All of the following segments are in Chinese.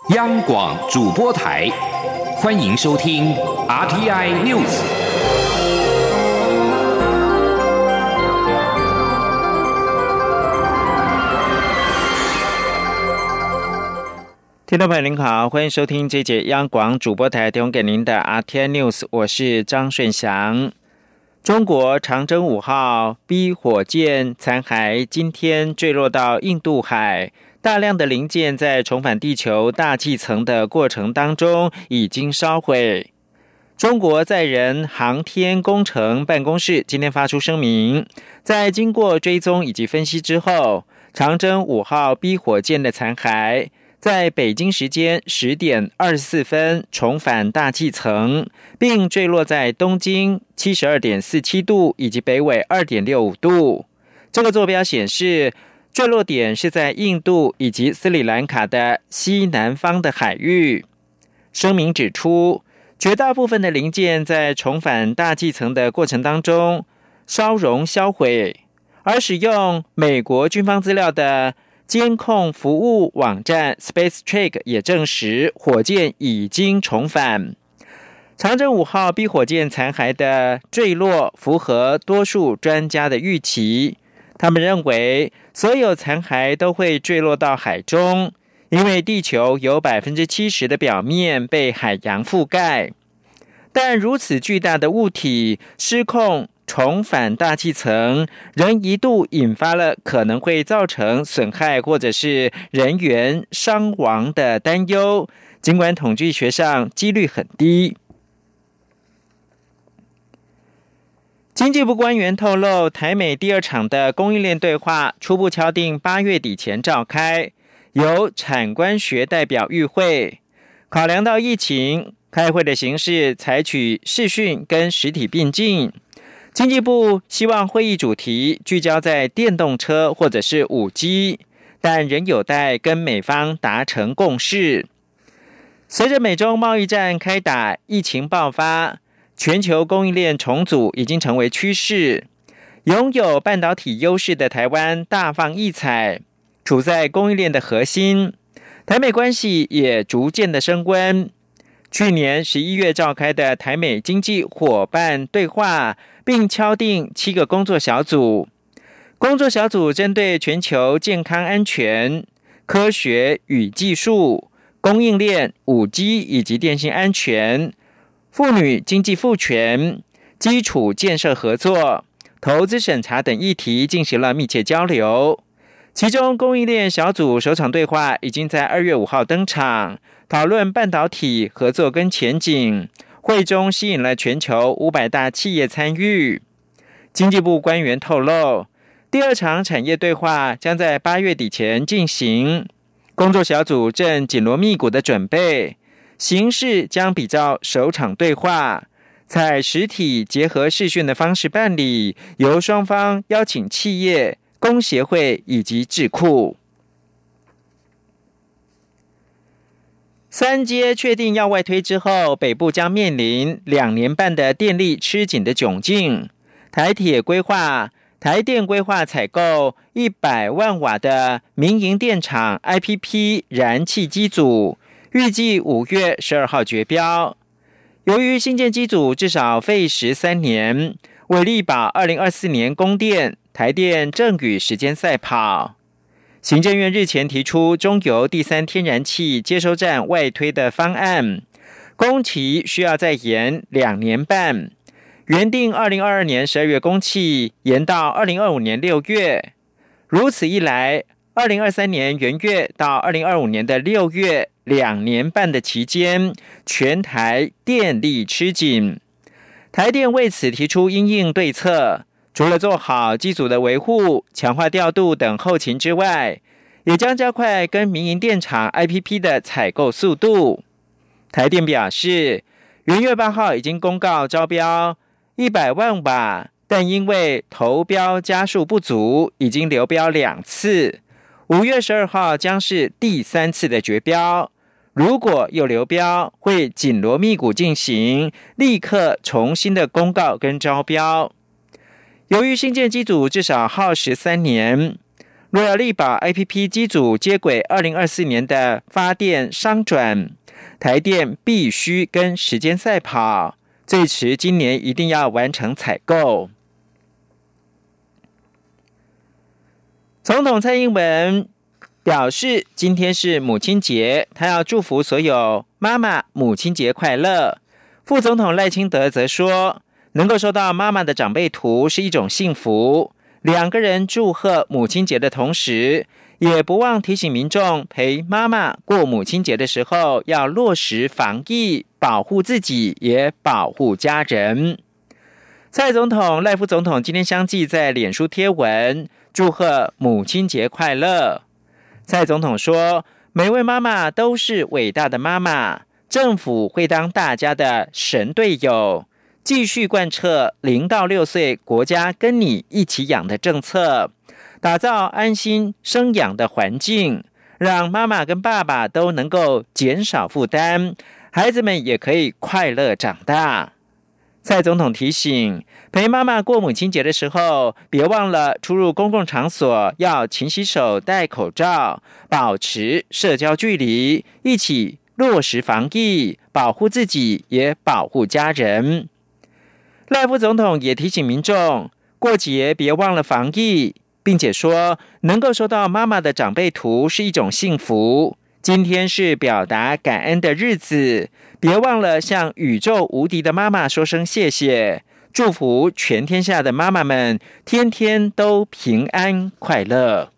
央广主播台，欢迎收听 RTI News。 听众朋友您好，欢迎收听这节央广主播台提供给您的 RTI News， 我是张顺祥。中国长征5号 B 火箭残骸今天坠落到印度海，大量的零件在重返地球大气层的过程当中已经烧毁。中国载人航天工程办公室今天发出声明，在经过追踪以及分析之后，长征5号 B 火箭的残骸在北京时间10点24分重返大气层，并坠落在东经 72.47 度以及北纬 2.65 度。这个坐标显示，坠落点是在印度以及斯里兰卡的西南方的海域。声明指出，绝大部分的零件在重返大气层的过程当中烧融销毁，而使用美国军方资料的监控服务网站 SpaceTrack 也证实火箭已经重返。长征5号 B 火箭残骸的坠落符合多数专家的预期，他们认为所有残骸都会坠落到海中，因为地球有 70% 的表面被海洋覆盖。但如此巨大的物体失控重返大气层，仍一度引发了可能会造成损害或者是人员伤亡的担忧，尽管统计学上几率很低。经济部官员透露，台美第2场的供应链对话初步敲定8月底前召开，由产官学代表与会。考量到疫情，开会的形式采取视讯跟实体并进。经济部希望会议主题聚焦在电动车或者是 5G， 但仍有待跟美方达成共识。随着美中贸易战开打，疫情爆发，全球供应链重组已经成为趋势。拥有半导体优势的台湾大放异彩，处在供应链的核心，台美关系也逐渐的升温。去年11月召开的台美经济伙伴对话，并敲定7个工作小组。工作小组针对全球健康安全、科学与技术、供应链、5G 以及电信安全、妇女经济赋权、基础建设合作、投资审查等议题进行了密切交流。其中供应链小组首场对话已经在2月5号登场，讨论半导体合作跟前景。会中吸引了全球500大企业参与。经济部官员透露，第2场产业对话将在8月底前进行，工作小组正紧锣密鼓的准备，形式将比照首场对话，采实体结合视讯的方式办理，由双方邀请企业、工协会以及智库。3接确定要外推之后，北部将面临2年半的电力吃紧的窘境。台电规划采购100万瓦的民营电厂 IPP 燃气机组，预计5月12号决标。由于新建机组至少费时3年，为力保2024年供电，台电正与时间赛跑。行政院日前提出中油第3天然气接收站外推的方案，工期需要再延2年半，原定2022年12月供气延到2025年6月。如此一来，2023年元月到2025年的6月2年半的期间，全台电力吃紧。台电为此提出因应对策，除了做好机组的维护、强化调度等后勤之外，也将加快跟民营电厂 IPP 的采购速度。台电表示，元月8号已经公告招标100万瓦，但因为投标家数不足，已经流标2次。5月12号将是第3次的决标。如果有流标，会紧锣密鼓进行，立刻重新的公告跟招标。由于新建机组至少耗时3年， 若要力保 IPP 机组接轨2024年的发电商转，台电必须跟时间赛跑，最迟今年一定要完成采购。总统蔡英文表示，今天是母亲节，他要祝福所有妈妈母亲节快乐。副总统赖清德则说，能够收到妈妈的长辈图是一种幸福。两个人祝贺母亲节的同时，也不忘提醒民众陪妈妈过母亲节的时候要落实防疫，保护自己也保护家人。蔡总统、赖副总统今天相继在脸书贴文祝贺母亲节快乐。蔡总统说，每位妈妈都是伟大的妈妈，政府会当大家的神队友，继续贯彻0到6岁国家跟你一起养的政策，打造安心生养的环境，让妈妈跟爸爸都能够减少负担，孩子们也可以快乐长大。蔡总统提醒，陪妈妈过母亲节的时候，别忘了出入公共场所要勤洗手、戴口罩，保持社交距离，一起落实防疫，保护自己也保护家人。赖副总统也提醒民众，过节别忘了防疫，并且说，能够收到妈妈的长辈图是一种幸福。今天是表达感恩的日子，别忘了向宇宙无敌的妈妈说声谢谢，祝福全天下的妈妈们天天都平安快乐。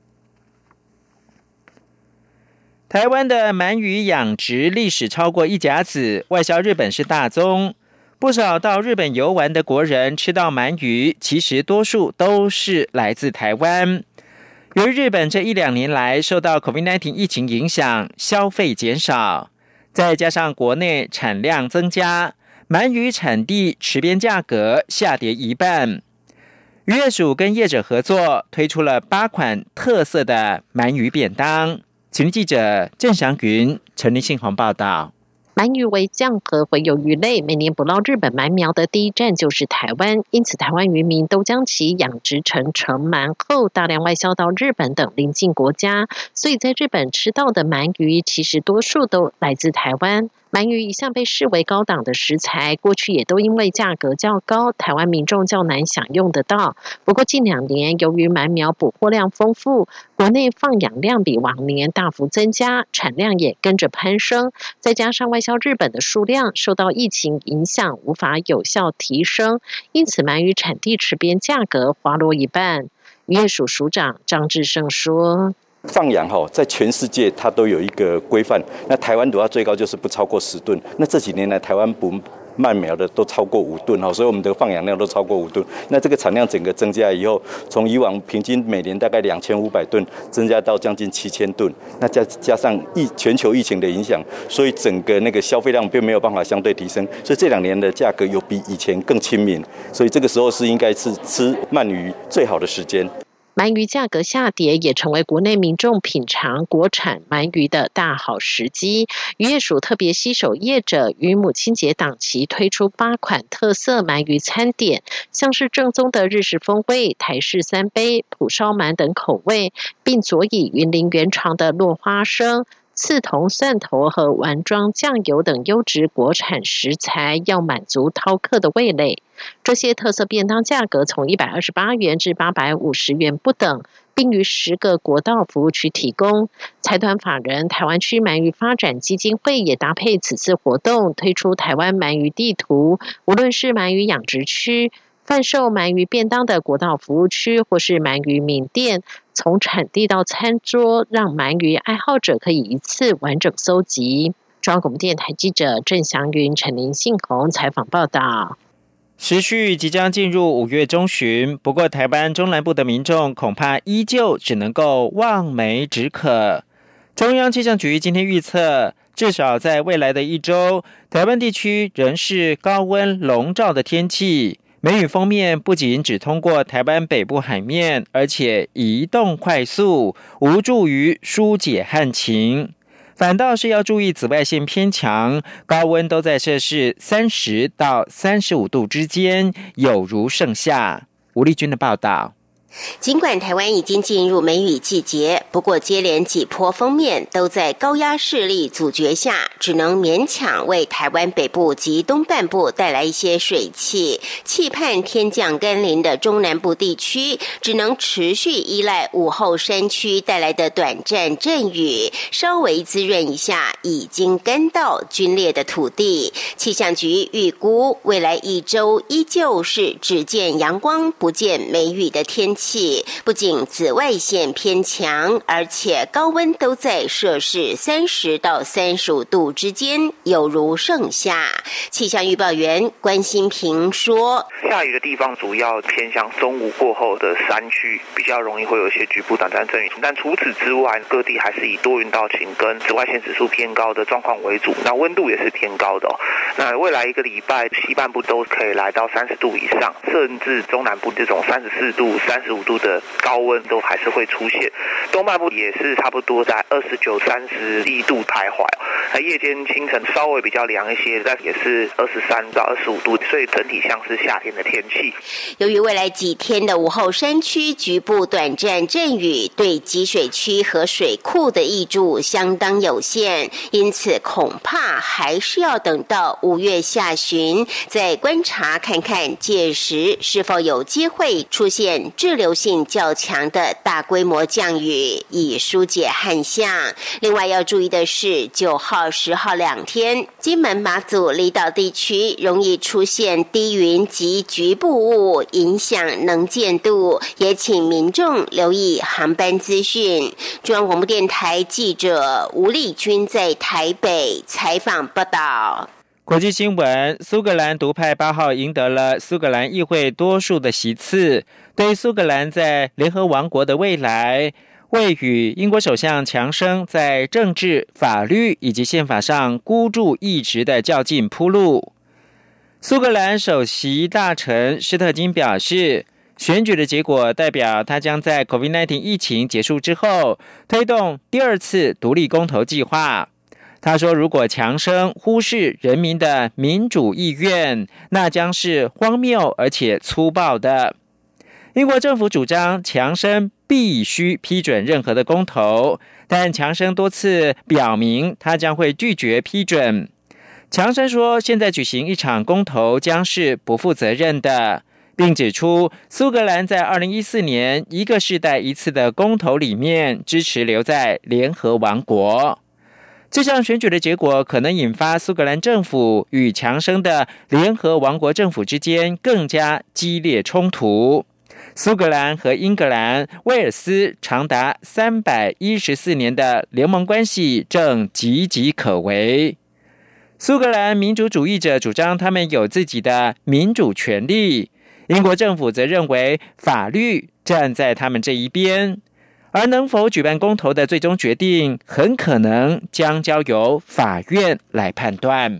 台湾的鳗鱼养殖历史超过一甲子，外销日本是大宗。不少到日本游玩的国人吃到鳗鱼，其实多数都是来自台湾。由于日本这1-2年来受到 COVID-19 疫情影响，消费减少，再加上国内产量增加，鳗鱼产地池边价格下跌一半。渔业署跟业者合作，推出了8款特色的鳗鱼便当。请记者郑祥云、陈立信报道。 鳗鱼为酱和洄游鱼类，每年捕捞日本鳗苗的第一站就是台湾，因此台湾渔民都将其养殖成成鳗后，大量外销到日本等邻近国家。所以在日本吃到的鳗鱼，其实多数都来自台湾。鳗鱼一向被视为高档的食材，过去也都因为价格较高，台湾民众较难享用得到。不过近2年，由于鳗苗捕获量丰富，国内放养量比往年大幅增加，产量也跟着攀升，再加上外销日本的数量受到疫情影响，无法有效提升，因此鳗鱼产地池边价格滑落一半。渔业署署长张志胜说， 放养在全世界它都有一个规范，那台湾的话最高就是不超过10吨，那这几年来台湾捕鳗苗的都超过5吨，所以我们的放养量都超过5吨。那这个产量整个增加以后，从以往平均每年大概2500吨，增加到将近7000吨。那加上全球疫情的影响，所以整个那个消费量并没有办法相对提升，所以这2年的价格有比以前更亲民，所以这个时候是应该是吃鳗鱼最好的时间。 鳗鱼价格下跌也成为国内民众品尝国产鳗鱼的大好时机。渔业署特别携手业者，于母亲节档期推出8款特色鳗鱼餐点，像是正宗的日式风味、台式3杯、蒲烧鳗等口味，并佐以云林原创的落花生、刺桐、蒜头和丸庄酱油等优质国产食材，要满足饕客的味蕾。这些特色便当价格从128元至850元不等，并于10个国道服务区提供。财团法人台湾区鳗鱼发展基金会也搭配此次活动，推出台湾鳗鱼地图，无论是鳗鱼养殖区、贩售鳗鱼便当的国道服务区，或是鳗鱼名店，从产地到餐桌，让鳗鱼爱好者可以一次完整搜集。中央广播电台记者郑祥云、陈林信宏采访报道。 时序即将进入5月中旬，不过台湾中南部的民众恐怕依旧只能够望梅止渴。中央气象局今天预测，至少在未来的1周，台湾地区仍是高温笼罩的天气。梅雨锋面不仅只通过台湾北部海面，而且移动快速，无助于疏解旱情。反倒是要注意紫外线偏强，高温都在摄氏30到35度之间，有如盛夏。吴丽君的报道。 尽管台湾已经进入梅雨季节，不过接连几波锋面都在高压势力阻绝下，只能勉强为台湾北部及东半部带来一些水汽。期盼天降甘霖的中南部地区，只能持续依赖午后山区带来的短暂阵雨，稍微滋润一下已经干到皲裂的土地。气象局预估，未来1周依旧是只见阳光不见梅雨的天气。不仅紫外线偏强，而且高温都在摄氏30到35度之间，有如盛夏。气象预报员关心平说， 下雨的地方主要偏向中午过后的山区，比较容易会有一些局部短暂阵雨，但除此之外，各地还是以多云到晴跟紫外线指数偏高的状况为主，那温度也是偏高的那未来1个礼拜，西半部都可以来到30度以上，甚至中南部这种34度、35度的高温都还是会出现，东半部也是差不多在29、31度徘徊。那夜间清晨稍微比较凉一些，但也是23到25度，所以整体像是夏天的天气。 由于未来几天的午后山区局部短暂阵雨，对集水区和水库的挹注相当有限，因此恐怕还是要等到5月下旬再观察看看，届时是否有机会出现滞留性较强的大规模降雨，以疏解旱象。另外要注意的是，9号、10号2天，金门、马祖离岛地区容易出现低云及局部雾，影响能见度，也请民众留意航班资讯。中央广播电台记者吴丽君在台北采访报道。 国际新闻，苏格兰独派8号赢得了苏格兰议会多数的席次，对苏格兰在联合王国的未来，为与英国首相强生在政治、法律以及宪法上孤注一掷的较劲铺路。苏格兰首席大臣施特金表示，选举的结果代表他将在 COVID-19 疫情结束之后推动第2次独立公投计划。他说，如果强生忽视人民的民主意愿，那将是荒谬而且粗暴的。英国政府主张强生必须批准任何的公投，但强生多次表明他将会拒绝批准。强生说，现在举行一场公投将是不负责任的，并指出苏格兰在2014年一个世代一次的公投里面支持留在联合王国。这项选举的结果可能引发苏格兰政府与强生的联合王国政府之间更加激烈冲突。苏格兰和英格兰、威尔斯长达314年的联盟关系正岌岌可危。苏格兰民主主义者主张他们有自己的民主权利，英国政府则认为法律站在他们这一边，而能否举办公投的最终决定很可能将交由法院来判断。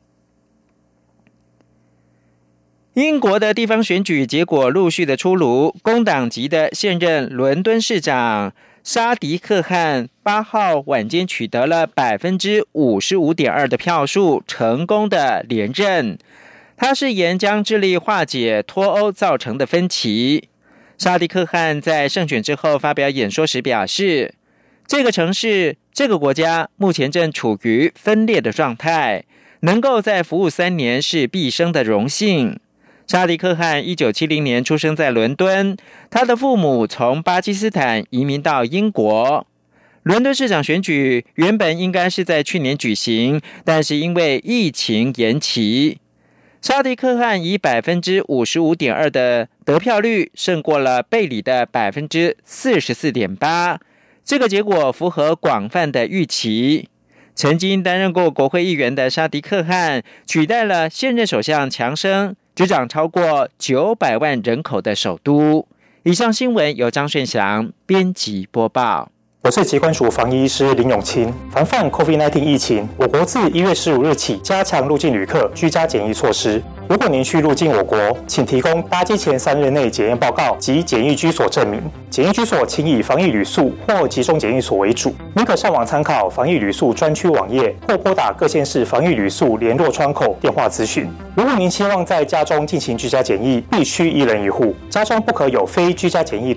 英国的地方选举结果陆续的出炉，工党籍的现任伦敦市长沙迪克汗8号晚间取得了 55.2% 的票数，成功的连任。他誓言将致力化解脱欧造成的分歧。沙迪克汗在胜选之后发表演说时表示，这个城市、这个国家目前正处于分裂的状态，能够再服务3年是毕生的荣幸。沙迪克汗1970年出生在伦敦，他的父母从巴基斯坦移民到英国。伦敦市长选举原本应该是在去年举行，但是因为疫情延期。沙迪克汗以 55.2% 的得票率胜过了贝里的 44.8%， 这个结果符合广泛的预期。曾经担任过国会议员的沙迪克汗取代了现任首相强生，执掌超过900万人口的首都。以上新闻由张顺祥编辑播报。 我是疾管署防疫医师林永清。防范 COVID-19 疫情，我国自1月15日起加强入境旅客居家检疫措施。如果您需入境我国，请提供搭机前3日内检验报告及检疫居所证明。检疫居所请以防疫旅宿或集中检疫所为主。您可上网参考防疫旅宿专区网页，或拨打各县市防疫旅宿联络窗口电话咨询。如果您希望在家中进行居家检疫，必须1人1户，家中不可有非居家检疫